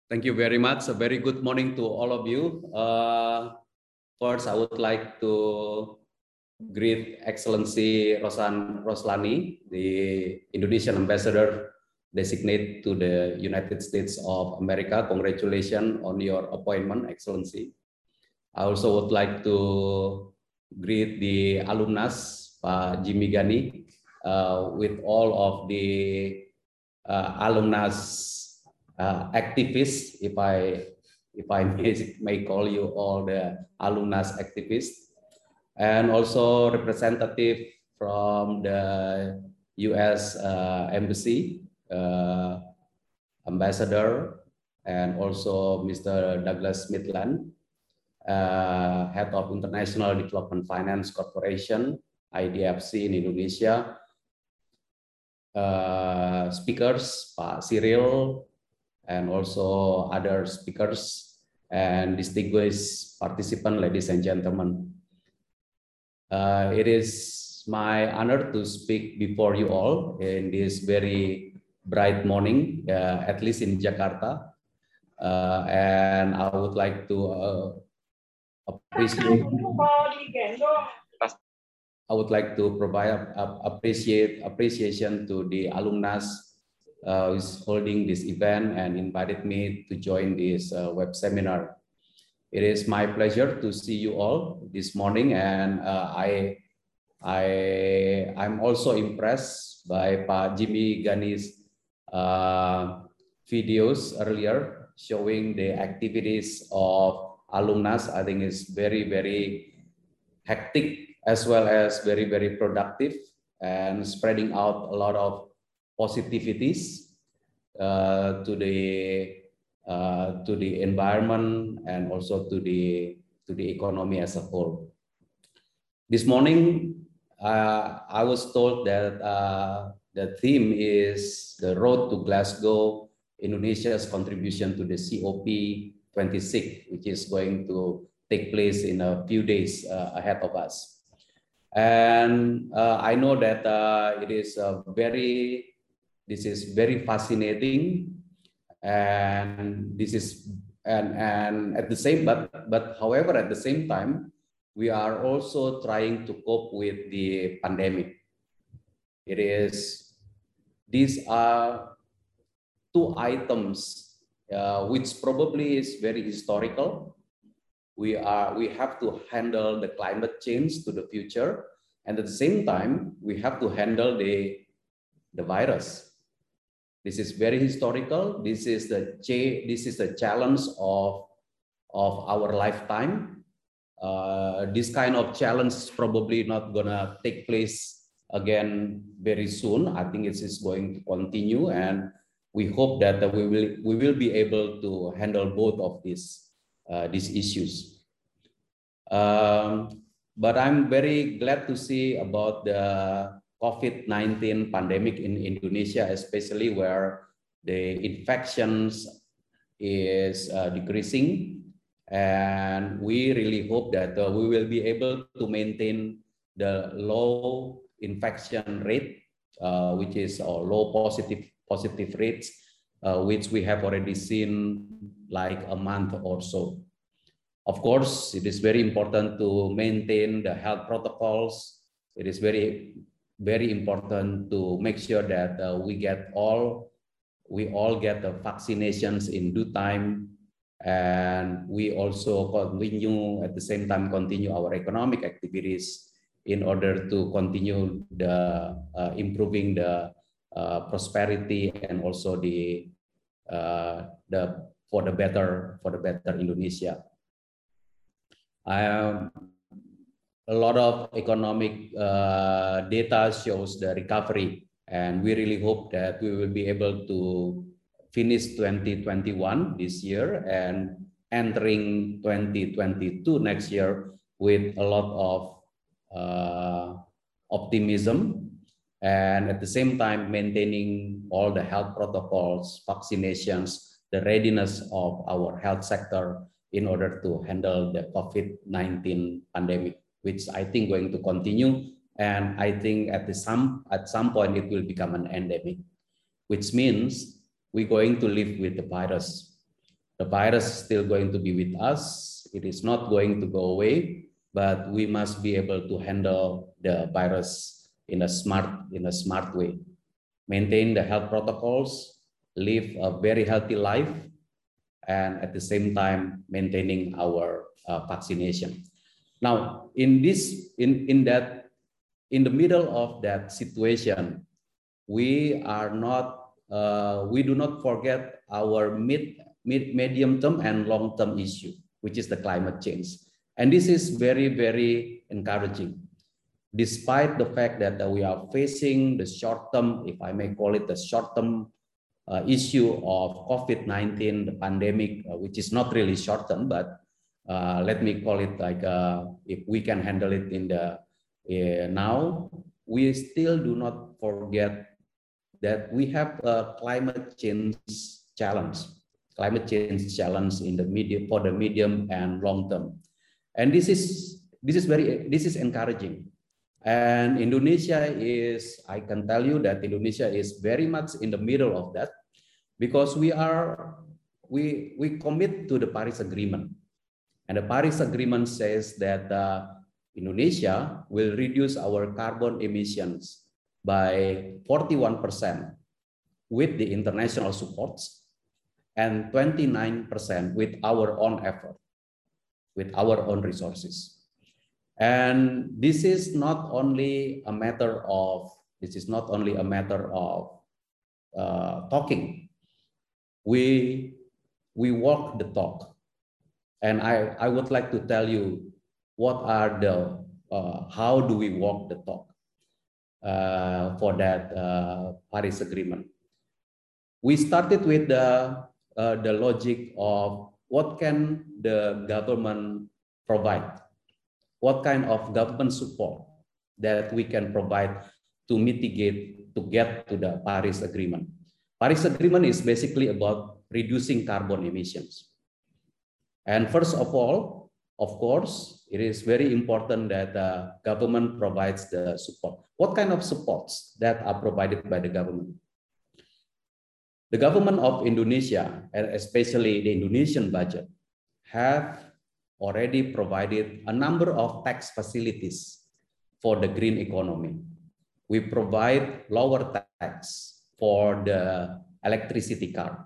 Thank you very much. A very good morning to all of you. First, I would like to greet Excellency Roslani, the Indonesian Ambassador designate to the United States of America. Congratulations on your appointment, Excellency. I also would like to greet the alumnus, Pak Jimmy Gani, with all of the alumnus activists, if I may call you all the alumnus activists, and also representative from the U.S. Embassy, Ambassador, and also Mr. Douglas Midland, Head of International Development Finance Corporation, IDFC in Indonesia, speakers, Pak Cyril, and also other speakers and distinguished participants, ladies and gentlemen. It is my honor to speak before you all in this very bright morning, at least in Jakarta. And I would like to appreciate. I would like to provide appreciation to the alumnus who is holding this event and invited me to join this web seminar. It is my pleasure to see you all this morning, and I'm also impressed by Pak Jimmy Gani's videos earlier showing the activities of alumnus. I think it's very, very hectic as well as very, very productive and spreading out a lot of positivities to the environment and also to the economy as a whole. This morning, I was told that the theme is the road to Glasgow, Indonesia's contribution to the COP26, which is going to take place in a few days ahead of us. And I know that this is very fascinating, and this is and at the same however at the same time we are also trying to cope with the pandemic. These are two items which probably is very historical. We have to handle the climate change to the future, and at the same time we have to handle the virus. This is very historical. This is the challenge of our lifetime. This kind of challenge is probably not gonna take place again very soon. I think it is going to continue, and we hope that we will be able to handle both of these issues. But I'm very glad to see about the COVID-19 pandemic in Indonesia, especially where the infections is decreasing, and we really hope that we will be able to maintain the low infection rate, which is low positive rates, which we have already seen like a month or so. Of course, it is very important to maintain the health protocols. It is very important to make sure that we all get the vaccinations in due time, and we also at the same time continue our economic activities in order to continue the improving the prosperity and also for the better Indonesia. A lot of economic data shows the recovery, and we really hope that we will be able to finish 2021 this year and entering 2022 next year with a lot of optimism, and at the same time maintaining all the health protocols, vaccinations, the readiness of our health sector in order to handle the COVID-19 pandemic, which I think going to continue, and I think at some point it will become an endemic, which means we're going to live with the virus. The virus is still going to be with us. It is not going to go away, but we must be able to handle the virus in a smart way. Maintain the health protocols, live a very healthy life, and at the same time maintaining our vaccination. Now, in the middle of that situation, we do not forget our medium term and long term issue, which is the climate change. And this is very, very encouraging. Despite the fact that we are facing the short term, if I may call it the short term issue of COVID-19, the pandemic, which is not really short term, but let me call it like if we can handle it in the now, we still do not forget that we have a climate change challenge in the medium and long term, and this is encouraging. And Indonesia is, I can tell you that Indonesia is very much in the middle of that, because we commit to the Paris Agreement, and the Paris Agreement says that Indonesia will reduce our carbon emissions by 41% with the international supports and 29% with our own effort, with our own resources. And this is not only a matter of talking. We walk the talk, and I would like to tell you what are the how do we walk the talk for that Paris Agreement. We started with the logic of what can the government provide. What kind of government support that we can provide to mitigate, to get to the Paris Agreement. Paris Agreement is basically about reducing carbon emissions. And first of all, of course, it is very important that the government provides the support. What kind of supports that are provided by the government? The government of Indonesia, and especially the Indonesian budget, have already provided a number of tax facilities for the green economy. We provide lower tax for the electric car.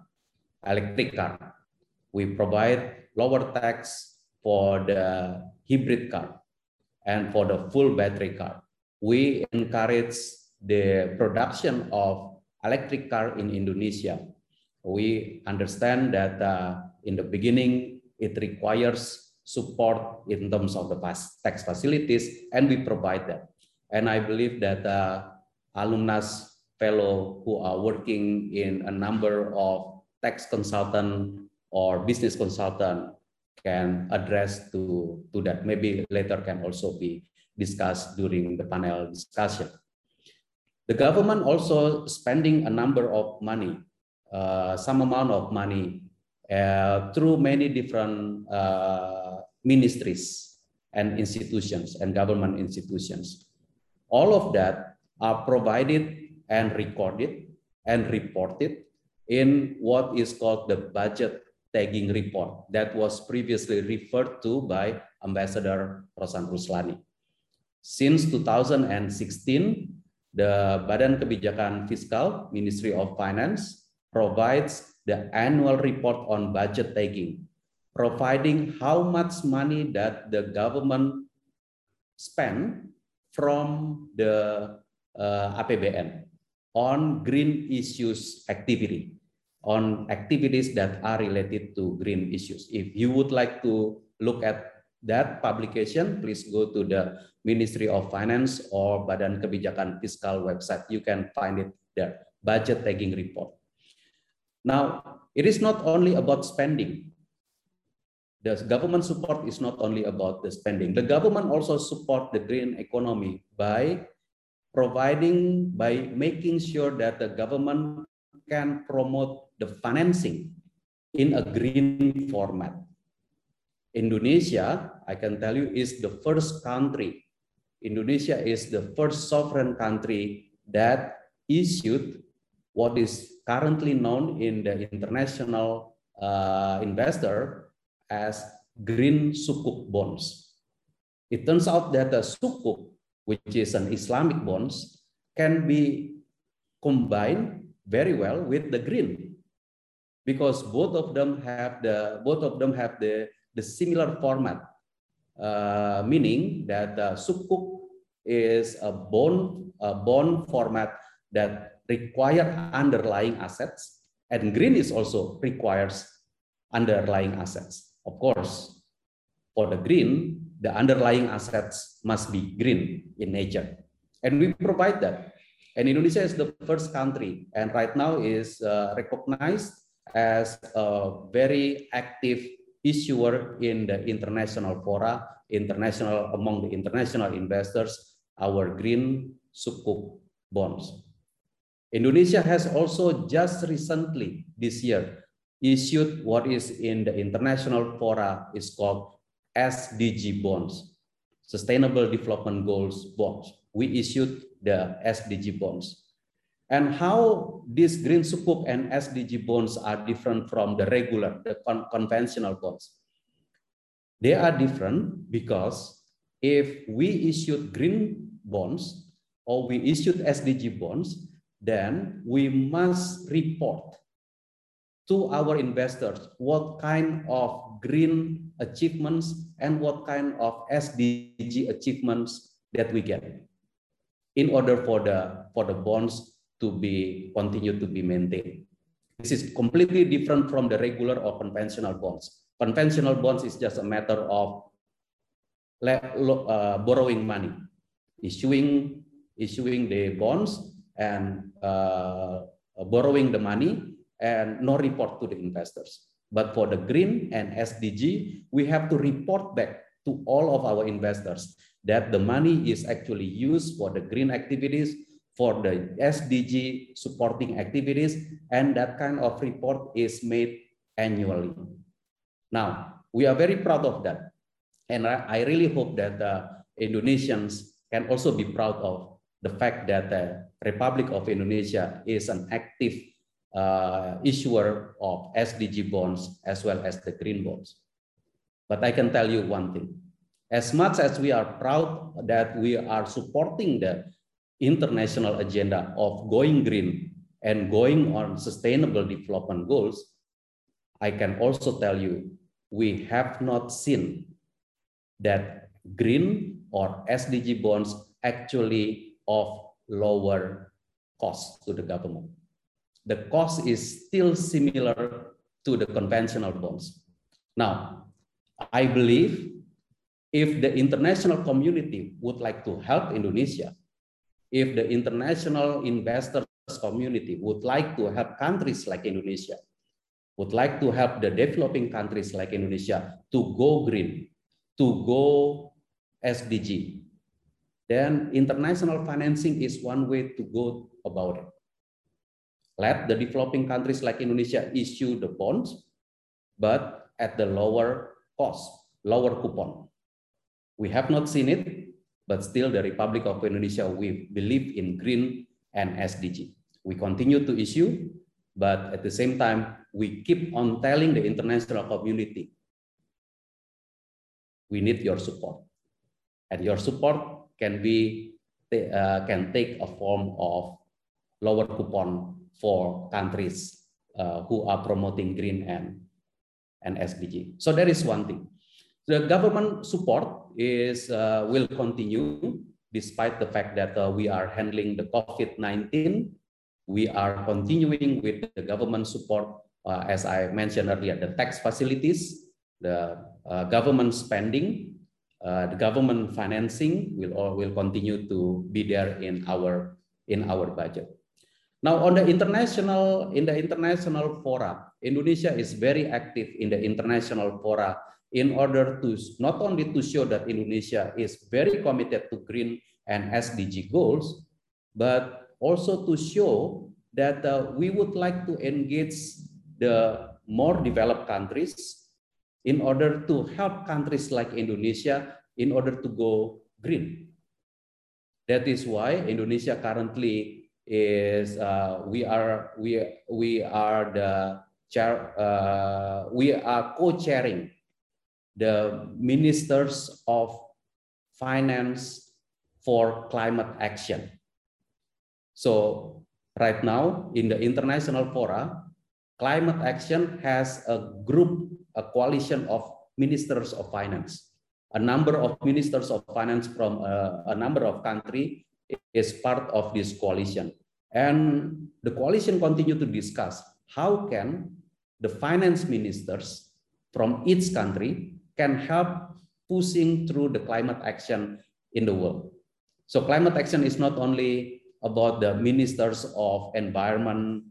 We provide lower tax for the hybrid car and for the full battery car. We encourage the production of electric car in Indonesia. We understand that in the beginning, it requires support in terms of the tax facilities, and we provide that. And I believe that alumnus fellow who are working in a number of tax consultant or business consultant can address to that. Maybe later can also be discussed during the panel discussion. The government also spending a number of money, some amount of money through many different ministries and institutions and government institutions. All of that are provided and recorded and reported in what is called the budget tagging report that was previously referred to by Ambassador Rosan Ruslani. Since 2016, the Badan Kebijakan Fiskal, Ministry of Finance, provides the annual report on budget tagging, providing how much money that the government spent from the APBN on green issues activity, on activities that are related to green issues. If you would like to look at that publication, please go to the Ministry of Finance or Badan Kebijakan Fiskal website. You can find it there, budget tagging report. Now, it is not only about spending. The government support is not only about the spending. The government also support the green economy by making sure that the government can promote the financing in a green format. Indonesia, I can tell you, is the first country. Indonesia is the first sovereign country that issued what is currently known in the international investor as green sukuk bonds. It turns out that the sukuk, which is an Islamic bonds, can be combined very well with the green, because both of them have the similar format, meaning that the sukuk is a bond format that require underlying assets, and green is also requires underlying assets. Of course, for the green, the underlying assets must be green in nature, and we provide that. And Indonesia is the first country, and right now is recognized as a very active issuer in the international fora, among the international investors, our green sukuk bonds. Indonesia has also just recently this year issued what is in the international fora is called SDG bonds, Sustainable Development Goals bonds. We issued the SDG bonds. And how these green sukuk and SDG bonds are different from the regular, the conventional bonds? They are different because if we issued green bonds or we issued SDG bonds, then we must report to our investors what kind of green achievements and what kind of SDG achievements that we get in order for the bonds to be continued to be maintained. This is completely different from the regular or conventional bonds. Conventional bonds is just a matter of borrowing money, issuing the bonds and borrowing the money and no report to the investors. But for the green and SDG, we have to report back to all of our investors that the money is actually used for the green activities, for the SDG supporting activities, and that kind of report is made annually. Now, we are very proud of that. And I really hope that Indonesians can also be proud of the fact that the Republic of Indonesia is an active issuer of SDG bonds as well as the green bonds. But I can tell you one thing. As much as we are proud that we are supporting the international agenda of going green and going on sustainable development goals, I can also tell you we have not seen that green or SDG bonds actually of lower cost to the government. The cost is still similar to the conventional bonds. Now, I believe if the international community would like to help Indonesia, if the international investors community would like to help countries like Indonesia, would like to help the developing countries like Indonesia to go green, to go SDG, then international financing is one way to go about it. Let the developing countries like Indonesia issue the bonds, but at the lower cost, lower coupon. We have not seen it, but still the Republic of Indonesia, we believe in green and SDG. We continue to issue, but at the same time, we keep on telling the international community, we need your support. And your support can take a form of lower coupon for countries who are promoting green and SDG. So that is one thing. The government support will continue despite the fact that we are handling the COVID-19. We are continuing with the government support, as I mentioned earlier, the tax facilities, the government spending, the government financing will continue to be there in our budget. Now, in the international fora, Indonesia is very active in the international fora in order to not only to show that Indonesia is very committed to green and SDG goals, but also to show that we would like to engage the more developed countries in order to help countries like Indonesia in order to go green. That is why Indonesia currently is we are the co-chairing the Ministers of Finance for Climate Action. So right now in the international fora, climate action has a coalition of ministers of finance. A number of ministers of finance from a number of countries is part of this coalition. And the coalition continue to discuss how can the finance ministers from each country can help pushing through the climate action in the world. So climate action is not only about the ministers of environment,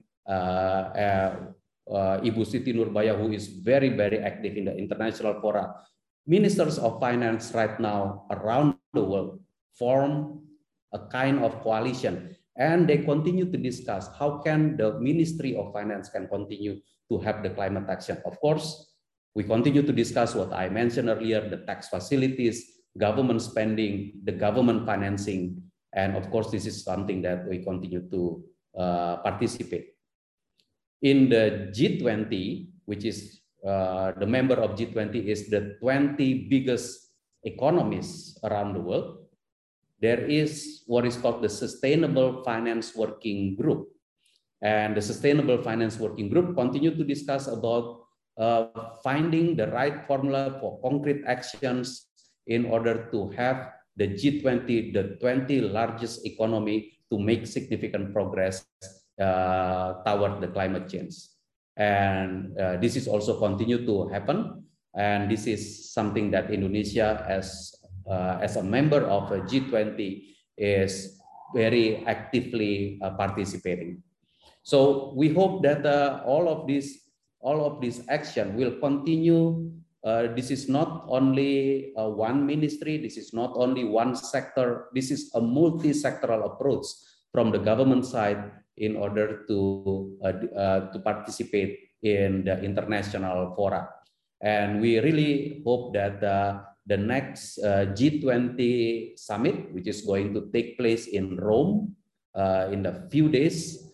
Ibu Siti Nurbaya, who is very, very active in the international fora. Ministers of finance right now around the world form a kind of coalition, and they continue to discuss how can the Ministry of Finance can continue to have the climate action. Of course, we continue to discuss what I mentioned earlier, the tax facilities, government spending, the government financing, and of course, this is something that we continue to participate. In the G20, which is the member of G20 is the 20 biggest economies around the world, there is what is called the Sustainable Finance Working Group. And the Sustainable Finance Working Group continue to discuss about finding the right formula for concrete actions in order to have the G20, the 20 largest economy, to make significant progress toward the climate change. And this is also continue to happen. And this is something that Indonesia as a member of a G20 is very actively participating. So we hope that all of this action will continue. This is not only one ministry, this is not only one sector, this is a multi-sectoral approach from the government side in order to participate in the international fora. And we really hope that the next G20 summit, which is going to take place in Rome in a few days,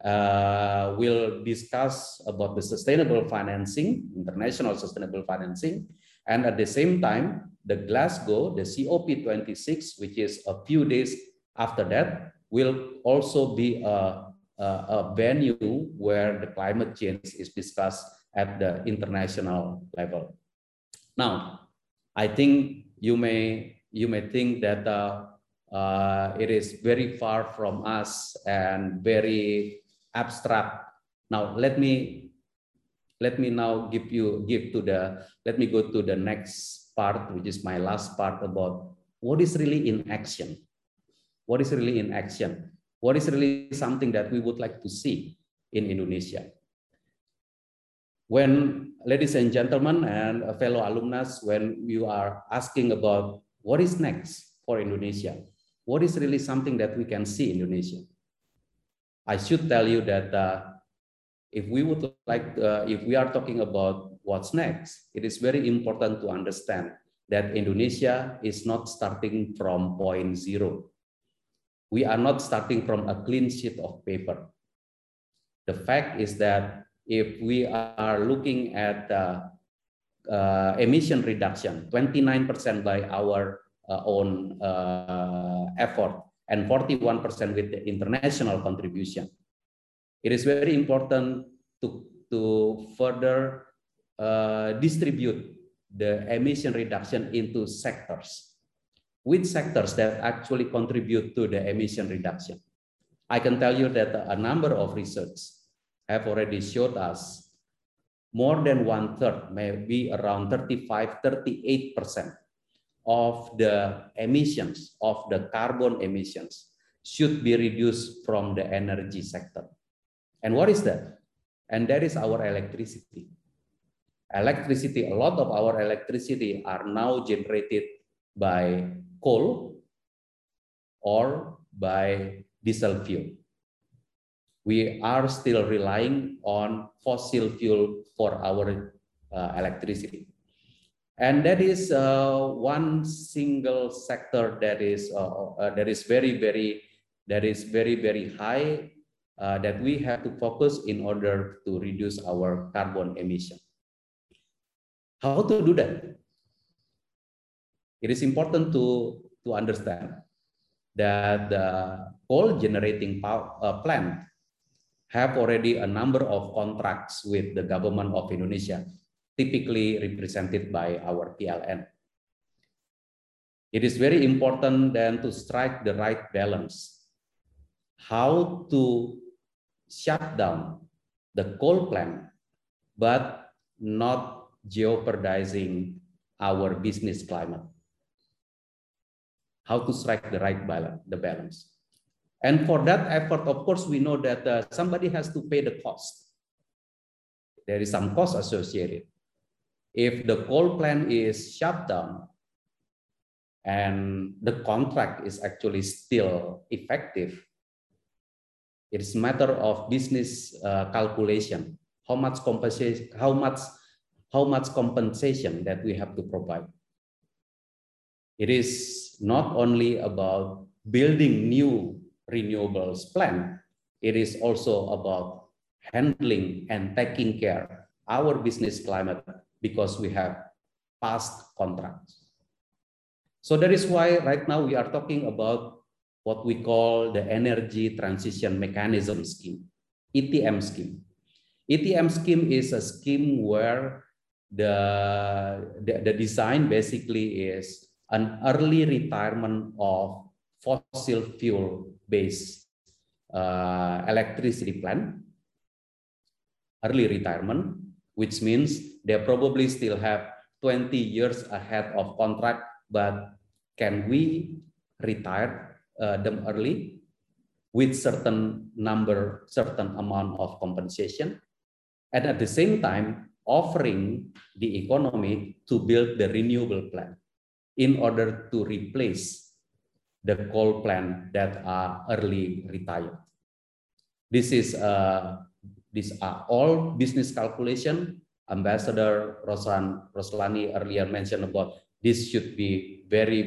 will discuss about the sustainable financing, international sustainable financing, and at the same time, the Glasgow, the COP26, which is a few days after that, will also be a venue where the climate change is discussed at the international level. Now, I think you may think that it is very far from us and very abstract. Now let me now let me go to the next part, which is my last part, about what is really in action. What is really in action? What is really something that we would like to see in Indonesia? When, ladies and gentlemen and fellow alumni, when you are asking about what is next for Indonesia, what is really something that we can see in Indonesia? I should tell you that if we are talking about what's next, it is very important to understand that Indonesia is not starting from point zero. We are not starting from a clean sheet of paper. The fact is that if we are looking at emission reduction, 29% by our own effort, and 41% with the international contribution. It is very important to further distribute the emission reduction into sectors. Which sectors that actually contribute to the emission reduction? I can tell you that a number of research have already showed us more than 1/3, maybe around 35–38% of the emissions, of the carbon emissions, should be reduced from the energy sector. And what is that? And that is our electricity. Electricity, a lot of our electricity are now generated by coal or by diesel fuel. We are still relying on fossil fuel for our electricity. And that is one single sector that is very, very high that we have to focus in order to reduce our carbon emission. How to do that? It is important to understand that the coal generating plant have already a number of contracts with the government of Indonesia, typically represented by our PLN. It is very important then to strike the right balance. How to shut down the coal plant, but not jeopardizing our business climate. How to strike the right balance. And for that effort, of course, we know that somebody has to pay the cost. There is some cost associated. If the coal plant is shut down and the contract is actually still effective, it is a matter of business calculation. How much compensation that we have to provide. It is not only about building new renewables plant, it is also about handling and taking care of our business climate because we have past contracts. So that is why right now we are talking about what we call the Energy Transition Mechanism Scheme, ETM scheme. ETM scheme is a scheme where the design basically is an early retirement of fossil fuel-based electricity plant, early retirement, which means they probably still have 20 years ahead of contract, but can we retire them early with certain amount of compensation, and at the same time offering the economy to build the renewable plant in order to replace the coal plant that are early retired. These are all business calculation. Ambassador Roslani earlier mentioned about this should be very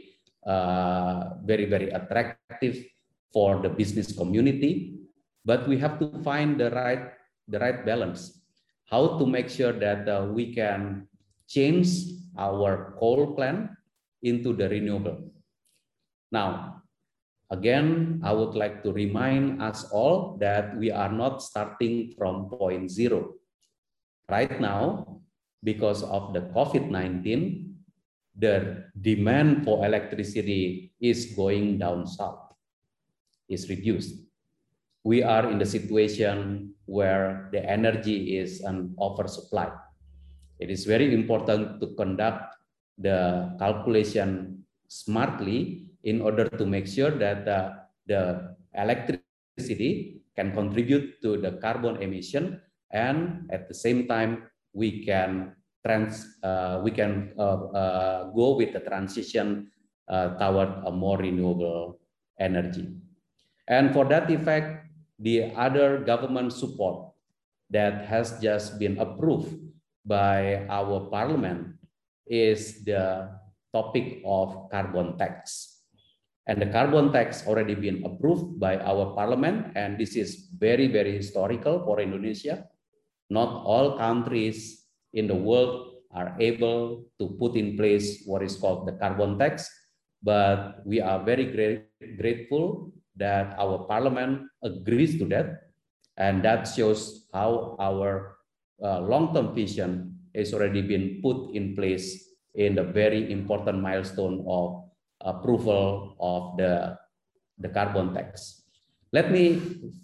attractive for the business community, but we have to find the right balance. How to make sure that we can change our coal plant into the renewable. Now, again, I would like to remind us all that we are not starting from point zero. Right now, because of the COVID-19, the demand for electricity is going down south, is reduced. We are in the situation where the energy is an oversupply. It is very important to conduct the calculation smartly in order to make sure that the electricity can contribute to the carbon emission, and at the same time we can go with the transition toward a more renewable energy. And for that effect, the other government support that has just been approved by our parliament is the topic of carbon tax. And the carbon tax already been approved by our parliament, and this is very historical for Indonesia. Not all countries in the world are able to put in place what is called the carbon tax, but we are very grateful that our parliament agrees to that, and that shows how our long-term vision has already been put in place in the very important milestone of approval of the carbon tax. Let me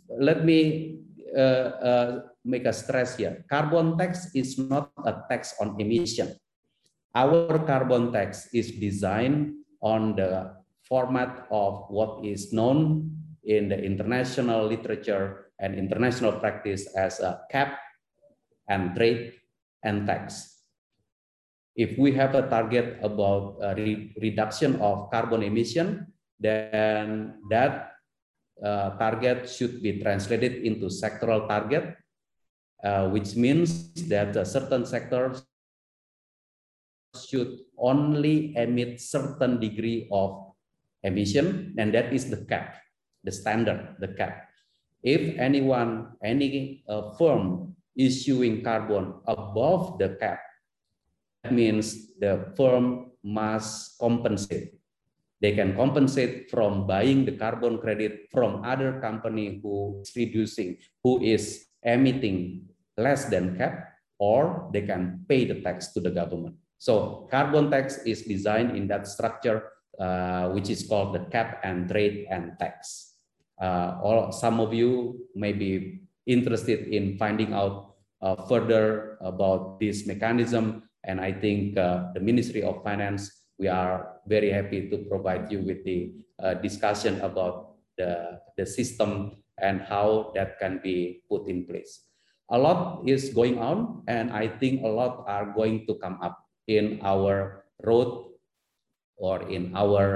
make a stress here. Carbon tax is not a tax on emission. Our carbon tax is designed on the format of what is known in the international literature and international practice as a cap and trade and tax. If we have a target about a reduction of carbon emission, then that target should be translated into sectoral target, which means that certain sectors should only emit certain degree of emission, and that is the cap, the standard, the cap. If any firm issuing carbon above the cap, that means the firm must compensate. They can compensate from buying the carbon credit from other company who is reducing, who is emitting less than cap, or they can pay the tax to the government. So carbon tax is designed in that structure, which is called the cap and trade and tax. Some of you may be interested in finding out further about this mechanism, and I think the Ministry of Finance, we are very happy to provide you with the discussion about the system and how that can be put in place. A lot is going on, and I think a lot are going to come up in our road or in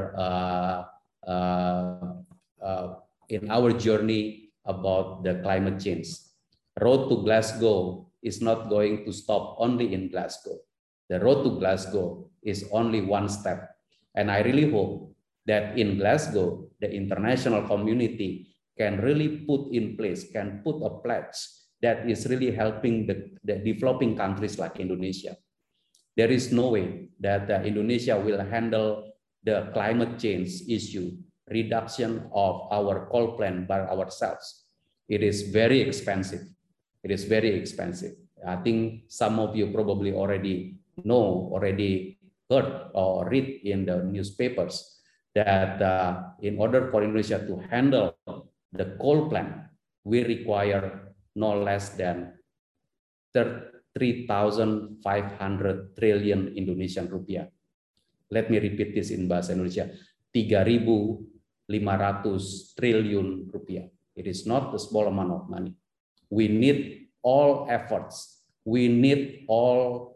our journey about the climate change. Road to Glasgow is not going to stop only in Glasgow. The road to Glasgow is only one step. And I really hope that in Glasgow, the international community can really put in place, can put a pledge that is really helping the developing countries like Indonesia. There is no way that Indonesia will handle the climate change issue, reduction of our coal plant by ourselves. It is very expensive. It is very expensive. I think some of you probably already heard or read in the newspapers that in order for Indonesia to handle the coal plant, we require no less than 3,500 triliun Indonesian rupiah. Let me repeat this in bahasa Indonesia. 3.500 triliun rupiah. It is not a small amount of money. We need all efforts. We need all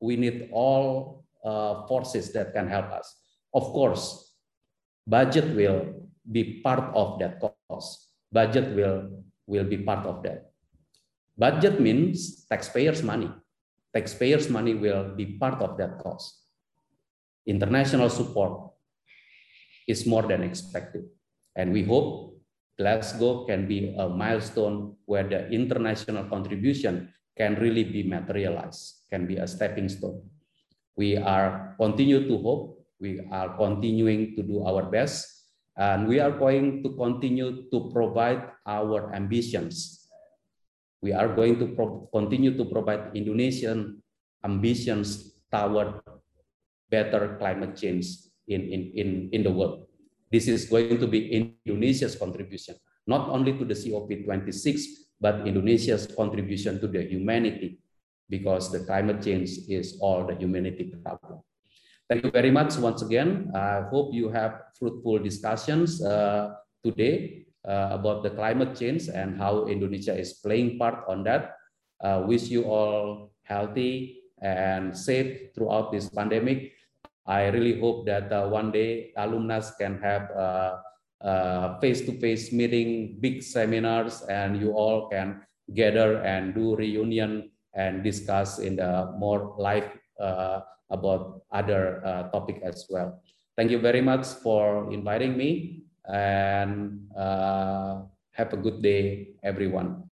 forces that can help us. Of course, budget will be part of that cost. Budget will be part of that. Budget means taxpayers' money. Taxpayers' money will be part of that cost. International support is more than expected. And we hope Glasgow can be a milestone where the international contribution can really be materialized, can be a stepping stone. We are continue to hope, we are continuing to do our best, and we are going to continue to provide our ambitions. We are going to continue to provide Indonesian ambitions toward better climate change in the world. This is going to be Indonesia's contribution, not only to the COP26, but Indonesia's contribution to the humanity, because the climate change is all the humanity problem. Thank you very much once again. I hope you have fruitful discussions today about the climate change and how Indonesia is playing part on that. Wish you all healthy and safe throughout this pandemic. I really hope that one day alumni can have face-to-face meeting, big seminars, and you all can gather and do reunion and discuss in the more live about other topic as well. Thank you very much for inviting me, and have a good day, everyone.